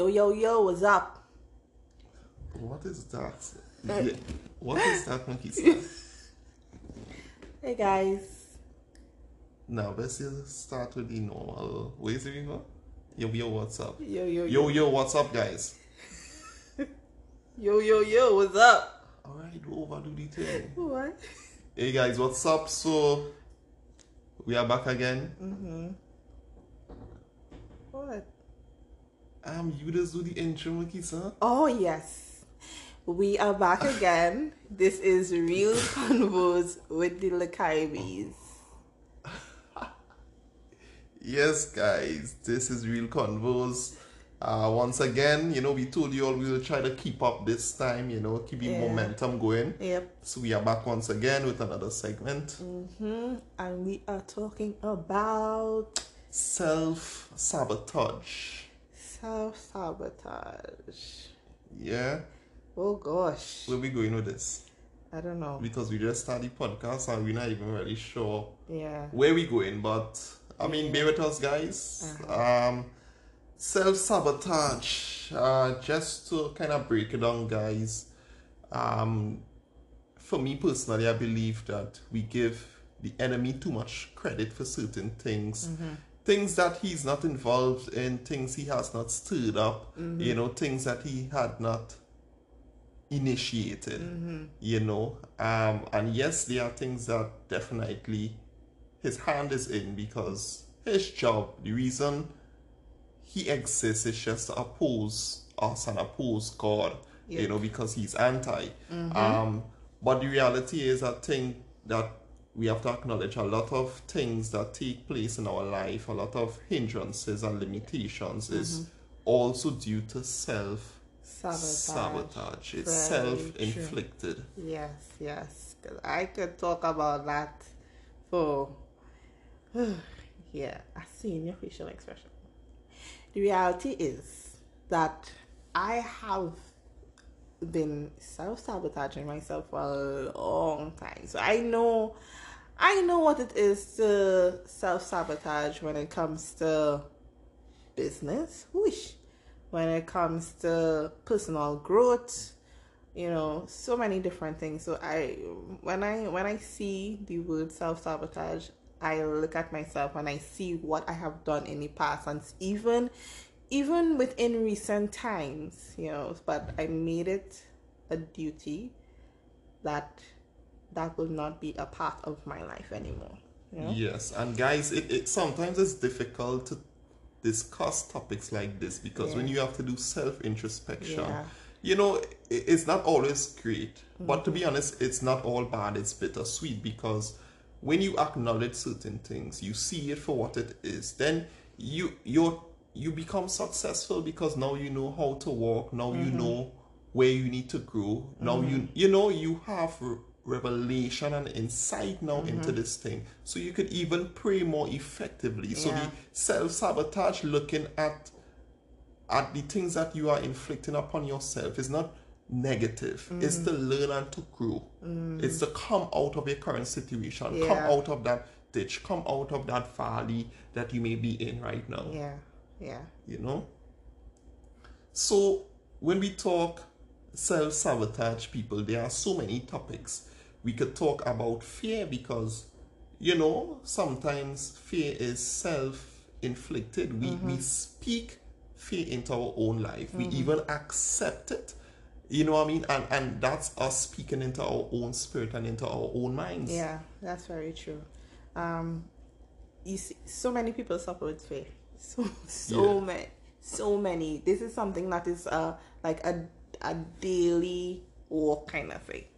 Yo, what's up? What is that? Yeah. What is that monkey stuff? Hey guys. Now let's just start with the normal. Where is it going? Yo, what's up? Yo, What's up, guys? Yo, what's up? Alright, don't overdo the thing. What? Hey guys, what's up? So we are back again. What? You just do the intro, monkey, sir. Oh yes. We are back again. This is Real Convos with the Lacaribes. Yes, guys, this is Real Convos. Once again, we told you all we will try to keep up this time, keep the momentum going. Yep. So we are back once again with another segment. And we are talking about Self-sabotage. self-sabotage. Yeah. Oh gosh. Where we going with this? I don't know. Because we just started the podcast and we're not even really sure Yeah. where we going. But, bear with us, guys. Self-sabotage. Just to kind of break it down, guys. For me personally, I believe that we give the enemy too much credit for certain things. Things that he's not involved in, things he has not stirred up, things that he had not initiated, and yes, there are things that definitely his hand is in, because his job, the reason he exists is just to oppose us and oppose God, because he's anti. But the reality is, I think that we have to acknowledge a lot of things that take place in our life, a lot of hindrances and limitations is also due to self-sabotage. It's self-inflicted. True. Yes. Because I could talk about that for, a senior facial expression. The reality is that I have been self-sabotaging myself for a long time. So I know what it is to self-sabotage when it comes to business. When it comes to personal growth, so many different things. So when I see the word self-sabotage, I look at myself and I see what I have done in the past, and even within recent times, but I made it a duty that will not be a part of my life anymore. Yes, and guys, it sometimes it's difficult to discuss topics like this, because when you have to do self-introspection, it's not always great. But to be honest, it's not all bad, it's bittersweet, because when you acknowledge certain things, you see it for what it is, then you become successful, because now you know how to walk, now you know where you need to grow, now you have revelation and insight now into this thing, so you could even pray more effectively. So the self-sabotage, looking at the things that you are inflicting upon yourself, is not negative. It's to learn and to grow. It's to come out of your current situation, come out of that ditch, come out of that valley that you may be in right now. So when we talk self-sabotage, people, there are so many topics. We could talk about fear, because sometimes fear is self-inflicted. We speak fear into our own life. We even accept it. You know what I mean? And that's us speaking into our own spirit and into our own minds. Yeah, that's very true. You see, so many people suffer with fear. So many. This is something that is like a daily walk kind of thing.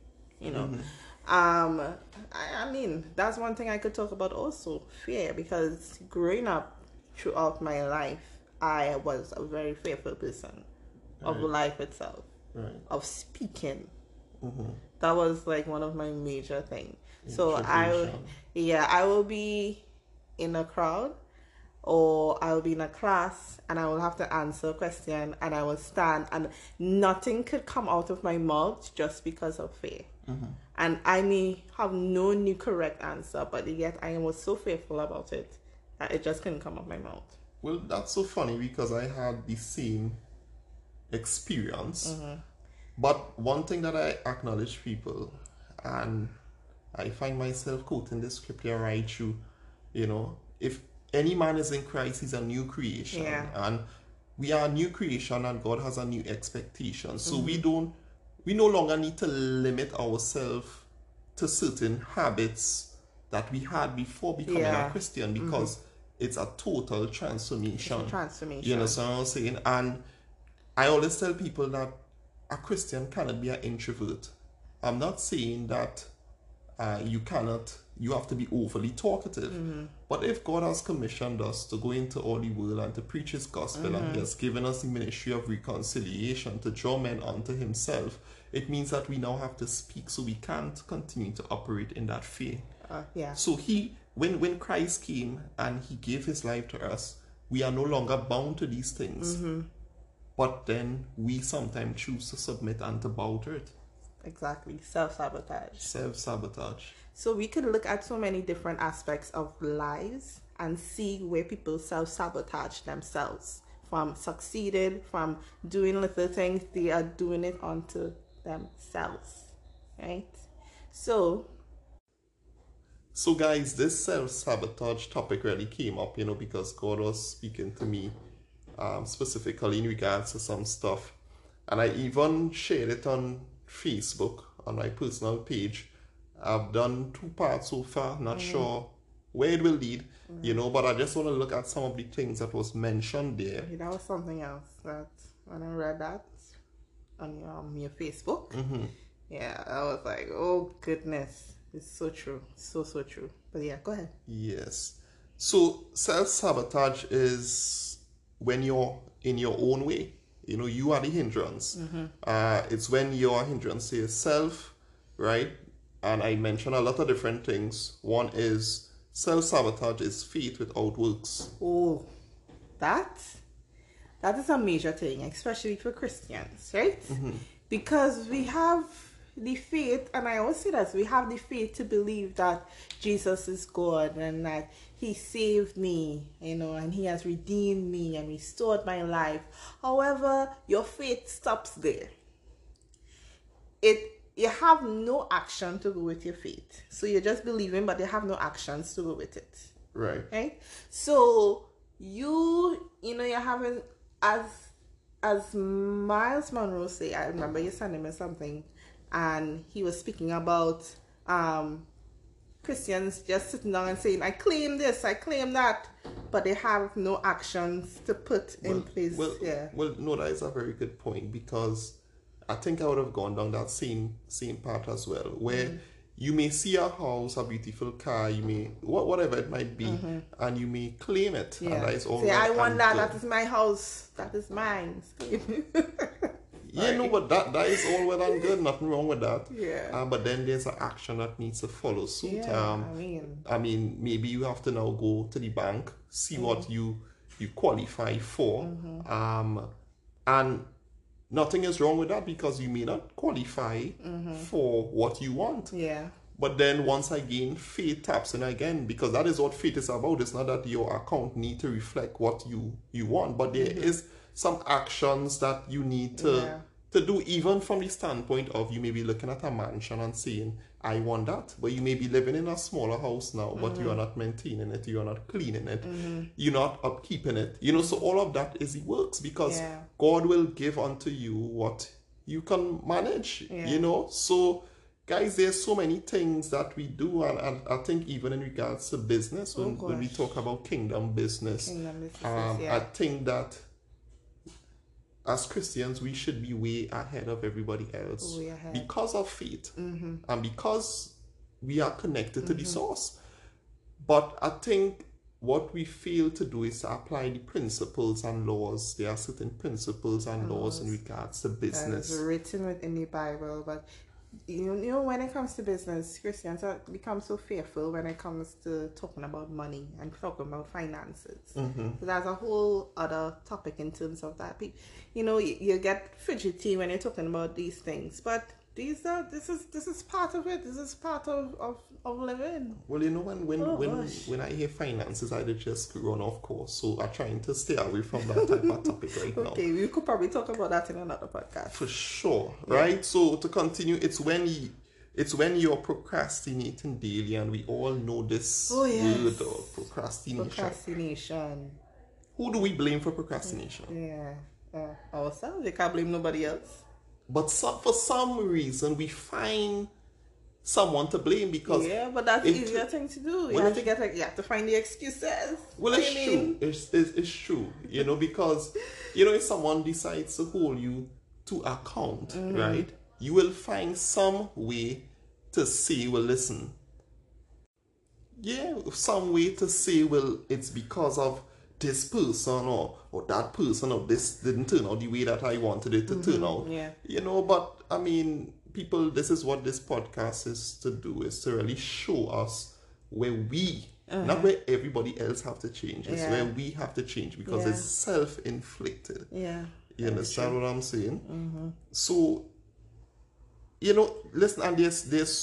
I mean, that's one thing I could talk about also, fear, because growing up throughout my life, I was a very fearful person of life itself, of speaking. That was like one of my major things. So I will be in a crowd, or I will be in a class, and I will have to answer a question, and I will stand, and nothing could come out of my mouth just because of fear. And I may have known the correct answer, but yet I was so fearful about it that it just couldn't come out of my mouth. Well, that's so funny, because I had the same experience. But one thing that I acknowledge people, and I find myself quoting this scripture right through, if any man is in Christ, he's a new creation. Yeah. And we are a new creation, and God has a new expectation. So we no longer need to limit ourselves to certain habits that we had before becoming a Christian, because it's a total transformation. It's a transformation. You understand what I'm saying? And I always tell people that a Christian cannot be an introvert. I'm not saying that you have to be overly talkative. But if God has commissioned us to go into all the world and to preach his gospel, and he has given us the ministry of reconciliation to draw men unto himself, it means that we now have to speak, so we can't continue to operate in that fear. So when Christ came and he gave his life to us, we are no longer bound to these things. But then we sometimes choose to submit and to bow to it. Exactly. Self-sabotage. Self-sabotage. So we could look at so many different aspects of lives and see where people self-sabotage themselves. From succeeded, from doing little things, they are doing it onto themselves. Right? So guys, this self-sabotage topic really came up, because God was speaking to me specifically in regards to some stuff. And I even shared it on Facebook, on my personal page. I've done 2 parts so far, not sure where it will lead, but I just want to look at some of the things that was mentioned there. That was something else that when I read that on your Facebook, I was like, oh goodness, it's so true, so true. But yeah, go ahead. Yes. So self-sabotage is when you're in your own way. You are the hindrance. It's when you're a hindrance to yourself, right? And I mentioned a lot of different things. One is self-sabotage is faith without works. Oh, that is a major thing, especially for Christians, right? Because we have the faith, and I always say that we have the faith to believe that Jesus is God and that he saved me, and he has redeemed me and restored my life. However, your faith stops there. You have no action to go with your faith. So you're just believing, but you have no actions to go with it. Right? So you're having, as Miles Monroe say, I remember you sending me something, and he was speaking about Christians just sitting down and saying, I claim this, I claim that, but they have no actions to put in place. Well, no, that is a very good point, because I think I would have gone down that same part as well, where you may see a house, a beautiful car, you may, whatever it might be, and you may claim it. And that is all say, I want that, that is my house, that is mine. But that is all well and good, nothing wrong with that. But then there's an action that needs to follow suit. I mean, maybe you have to now go to the bank, see what you qualify for, and nothing is wrong with that, because you may not qualify for what you want. But then once again, faith taps in again, because that is what faith is about. It's not that your account need to reflect what you want, but there is some actions that you need to do, even from the standpoint of you may be looking at a mansion and saying, I want that. But you may be living in a smaller house now, but you are not maintaining it, you are not cleaning it, you're not upkeeping it. So all of that is the works, because God will give unto you what you can manage, So guys, there's so many things that we do, and I think even in regards to business, when we talk about kingdom business, I think that as Christians, we should be way ahead of everybody else because of faith and because we are connected to the source. But I think what we fail to do is to apply the principles and laws. There are certain principles and laws in regards to business. It's written within the Bible, but when it comes to business, Christians become so fearful when it comes to talking about money and talking about finances. So that's a whole other topic in terms of that. You get fidgety when you're talking about these things, but This is part of it. This is part of living. Well, when I hear finances, I just run off course. So I'm trying to stay away from that type of topic right now. Okay, we could probably talk about that in another podcast. For sure, right? So to continue, it's when you're procrastinating daily, and we all know this word of procrastination. Procrastination. Who do we blame for procrastination? Yeah, ourselves. We can't blame nobody else. But for some reason, we find someone to blame because but that's the easier thing to do. You have to find the excuses. Well, it's true. It's true. Because if someone decides to hold you to account, right? You will find some way to say, well, listen. Yeah, some way to say, well, it's because of this person or that person, or this didn't turn out the way that I wanted it to turn out. Yeah. But I mean, people, this is what this podcast is to do, is to really show us where we, not where everybody else have to change, it's where we have to change, because it's self-inflicted. Yeah. You understand what I'm saying? So, listen, and there's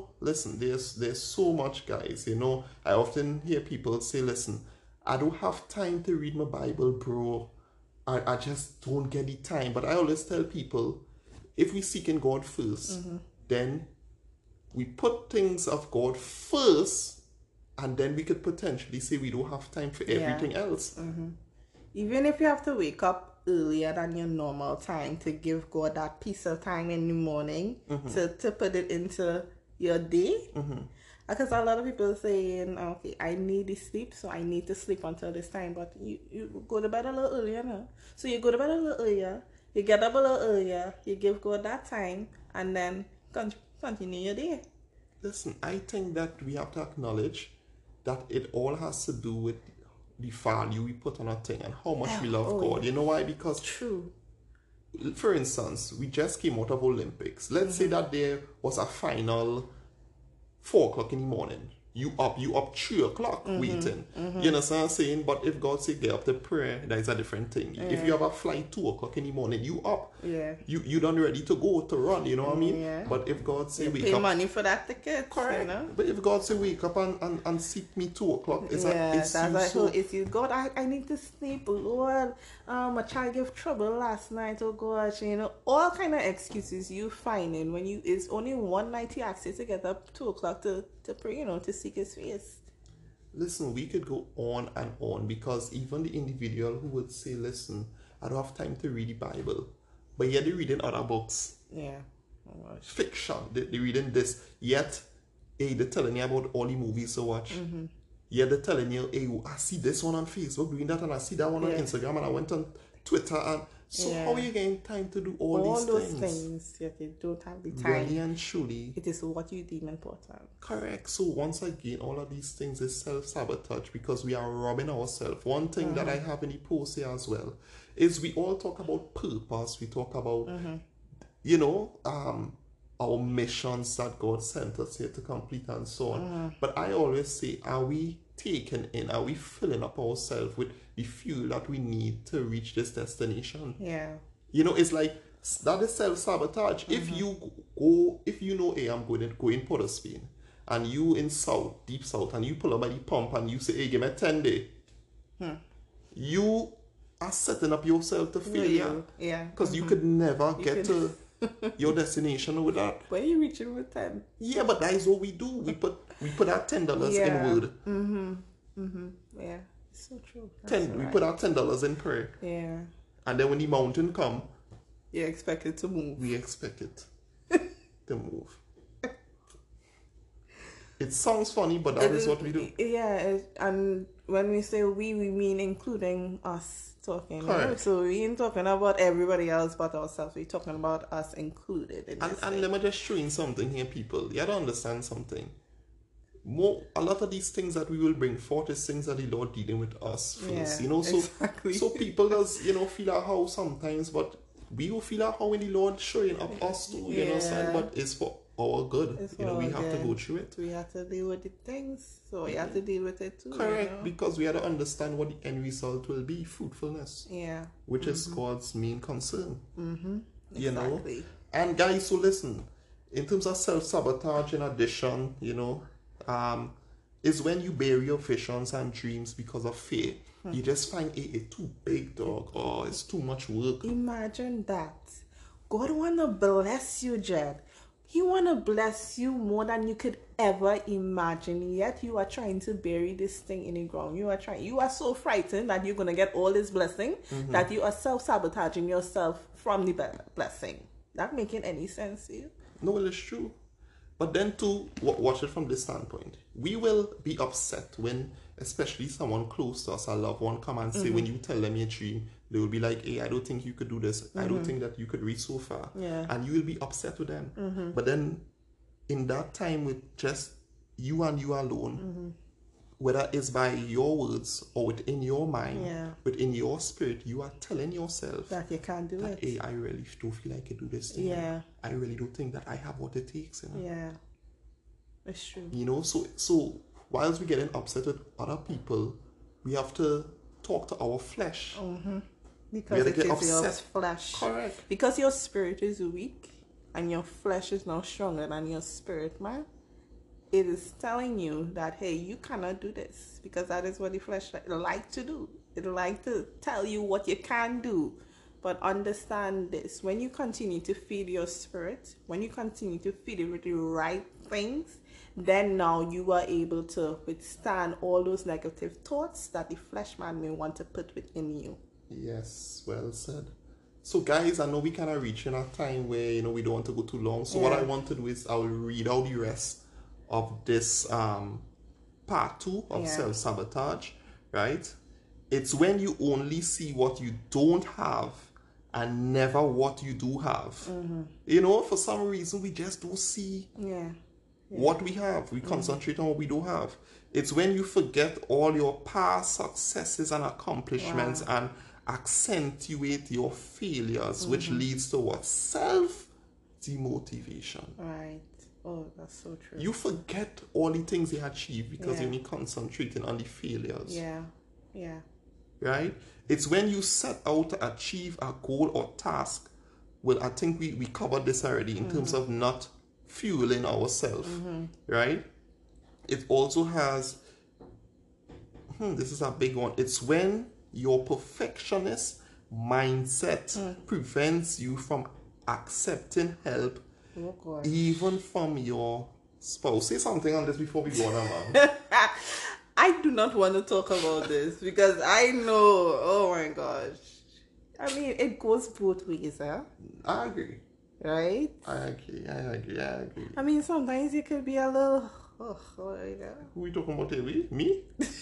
so much, guys. I often hear people say, listen, I don't have time to read my Bible, bro. I just don't get the time. But I always tell people, if we seek in God first, then we put things of God first, and then we could potentially say we don't have time for everything else. Even if you have to wake up earlier than your normal time to give God that piece of time in the morning to put it into your day. Because a lot of people are saying, okay, I need the sleep, so I need to sleep until this time. But you go to bed a little earlier now. So you go to bed a little earlier, you get up a little earlier, you give God that time, and then continue your day. Listen, I think that we have to acknowledge that it all has to do with the value we put on a thing and how much we love God. You know why? Because true. For instance, we just came out of Olympics. Let's say that there was a final 4 o'clock in the morning. You up 3 o'clock waiting. You understand what I'm saying? But if God say get up to prayer, that is a different thing. If you have a flight 2 o'clock in the morning, you up. You done ready to go to run, you know what I mean? But if God say wake pay up, money for that ticket, correct? But if God say wake up and seek me 2 o'clock, it's God, I need to sleep, Lord. My child gave trouble last night, oh gosh, all kind of excuses you finding when it's only one night you ask you to get up 2 o'clock to pray, to seek his face. Listen, we could go on and on, because even the individual who would say, listen, I don't have time to read the Bible, but yet they're reading other books. Yeah. Oh gosh. Fiction. They're reading this, yet they're telling you about all the movies to watch. Yet they're telling you, hey, I see this one on Facebook doing that, and I see that one on Instagram, and I went on Twitter, and how are you getting time to do all these those things? Yet you don't have the time. Really and truly, it is what you deem important. Correct. So once again, all of these things is self-sabotage, because we are robbing ourselves. One thing that I have in the post here as well is we all talk about purpose. We talk about, our missions that God sent us here to complete and so on. But I always say, are we taken in? Are we filling up ourselves with the fuel that we need to reach this destination? Yeah. It's like, that is self-sabotage. If you know, hey, I'm going in Port of Spain, and you in South, deep South, and you pull up by the pump and you say, hey, give me 10 days. You are setting up yourself to failure. Yeah. Because you could never get to your destination with that. Where are you reaching with 10? Yeah, but that is what we do. We put our $10 in word. Yeah, it's so true. We put our $10 in prayer. Yeah. And then when the mountain come, you expect it to move. We expect it to move. It sounds funny, but that is what we do. Yeah, and when we say we mean including us talking. Correct. So we ain't talking about everybody else but ourselves. We're talking about us included in this. And let me just show you something here, people. You have to understand something. A lot of these things that we will bring forth is things that the Lord dealing with us first. Exactly. So people does feel a how sometimes, but we will feel a how when the Lord showing up us too. You know, but it's for our good. We have to go through it. We have to deal with the things, so we have to deal with it too. Correct, because we have to understand what the end result will be: fruitfulness. Yeah. Which is God's main concern. Exactly. You know. And guys, so listen. in terms of self-sabotage, in addition, is when you bury your visions and dreams because of fear. You just find it too big, dog, or it's too much work. Imagine that. God wanna bless you, Jed. He wanna bless you more than you could ever imagine. Yet you are trying to bury this thing in the ground. You are so frightened that you're gonna get all this blessing that you are self-sabotaging yourself from the blessing. That making any sense to you? No, it's true. But then to watch it from this standpoint, we will be upset when, especially someone close to us, a loved one, come and say, when you tell them your dream, they will be like, hey, I don't think you could do this. I don't think that you could reach so far. Yeah. And you will be upset with them. But then in that time with just you and you alone, whether it's by your words or within your mind, within your spirit, you are telling yourself that you can't do it. Hey, I really don't feel like I do this thing. Yeah. I really don't think that I have what it takes. Yeah. It's true. So whilst we're getting upset with other people, we have to talk to our flesh. Because it is your flesh. Correct. Because your spirit is weak and your flesh is now stronger than your spirit, man. It is telling you that, hey, you cannot do this, because that is what the flesh like to do. It like to tell you what you can do. But understand this, when you continue to feed your spirit, when you continue to feed it with the right things, then now you are able to withstand all those negative thoughts that the flesh man may want to put within you. Yes, well said. So guys, I know we kind of reaching a time where, we don't want to go too long. So what I want to do is I will read out the rest of this part 2 of self-sabotage, right? It's when you only see what you don't have and never what you do have. For some reason we just don't see what we have. We concentrate on what we don't have. It's when you forget all your past successes and accomplishments and accentuate your failures, which leads to what? Self-demotivation. Right. Oh, that's so true. You forget all the things you achieved because you're only concentrating on the failures. Yeah. Right? It's when you set out to achieve a goal or task. Well, I think we covered this already in terms of not fueling ourselves. Right? It also has, this is a big one. It's when your perfectionist mindset prevents you from accepting help, even from your spouse. Say something on this before we go on, man. I do not want to talk about this because I know, oh my gosh. I mean, it goes both ways, huh? I agree. Right? I agree. I mean, sometimes you could be a little, Who are we talking about here? Me?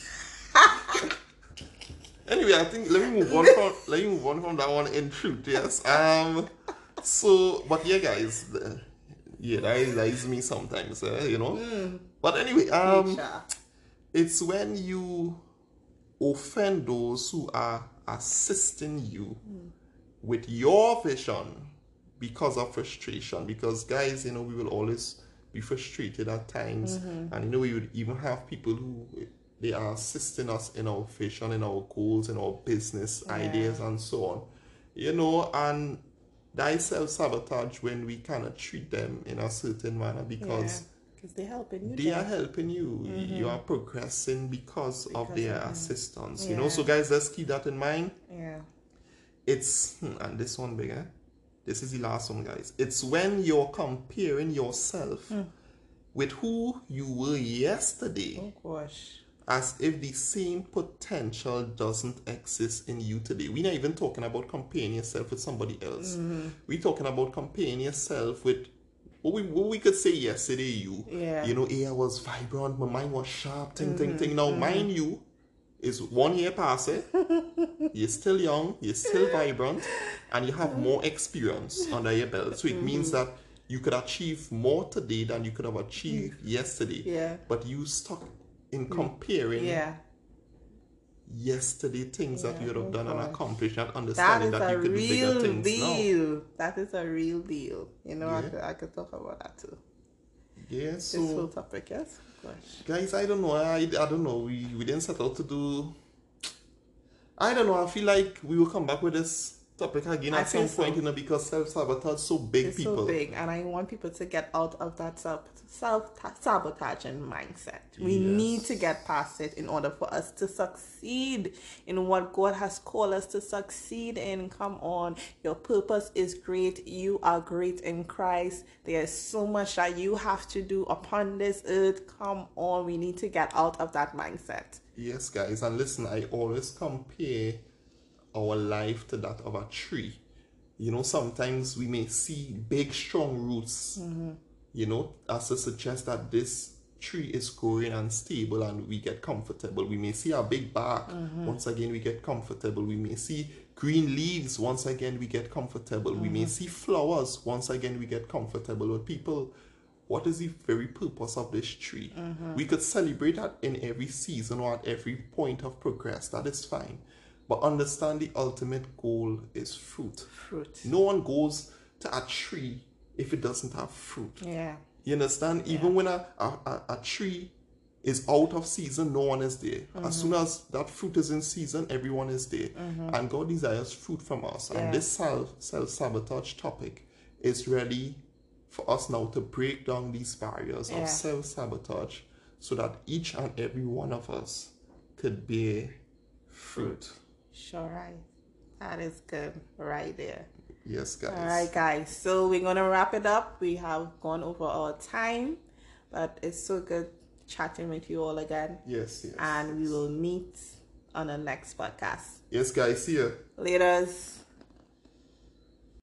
Anyway, I think let me move on from that one in truth, yes. So, but yeah, guys, that is me sometimes, But anyway, it's when you offend those who are assisting you with your vision because of frustration. Because guys, we will always be frustrated at times, and we would even have people who they are assisting us in our vision, in our goals, in our business ideas, and so on. And that is self-sabotage when we cannot treat them in a certain manner because they're helping you. They are helping you. You are progressing because of their assistance. So guys, let's keep that in mind. It's and this one bigger. This is the last one, guys. It's when you're comparing yourself with who you were yesterday. Oh gosh. As if the same potential doesn't exist in you today. We're not even talking about comparing yourself with somebody else. We're talking about comparing yourself with what we could say yesterday. I was vibrant, my mind was sharp, ting. Now, mind you, is 1 year past it. You're still young, you're still vibrant, and you have more experience under your belt. So it means that you could achieve more today than you could have achieved yesterday. Yeah. But you stuck in comparing yesterday things that you would have done and accomplished, and understanding that you could do bigger things now. That is a real deal. I could talk about that too. Yeah, so this whole topic, yes. Gosh. Guys, I don't know. I don't know. We didn't set out to do. I don't know. I feel like we will come back with this topic again at some point, because self-sabotage so big, it's so big, and I want people to get out of that self-sabotaging mindset. We need to get past it in order for us to succeed in what God has called us to succeed in. Come on, your purpose is great. You are great in Christ. There's so much that you have to do upon this earth. Come on, we need to get out of that mindset. Yes, guys, and listen, I always compare our life to that of a tree. Sometimes we may see big strong roots, as to suggest that this tree is growing and stable and we get comfortable. We may see a big bark, once again we get comfortable. We may see green leaves, once again we get comfortable. We may see flowers, once again we get comfortable. But people, what is the very purpose of this tree? We could celebrate that in every season or at every point of progress. That is fine. But understand the ultimate goal is fruit. No one goes to a tree if it doesn't have fruit. Yeah. You understand? Yeah. Even when a tree is out of season, no one is there. As soon as that fruit is in season, everyone is there. And God desires fruit from us. Yeah. And this self-sabotage topic is really for us now to break down these barriers of self-sabotage so that each and every one of us could bear fruit. Sure, right. That is good right there. Yes, guys. All right, guys. So we're going to wrap it up. We have gone over our time, but it's so good chatting with you all again. Yes. And we will meet on the next podcast. Yes, guys. See you. Laters.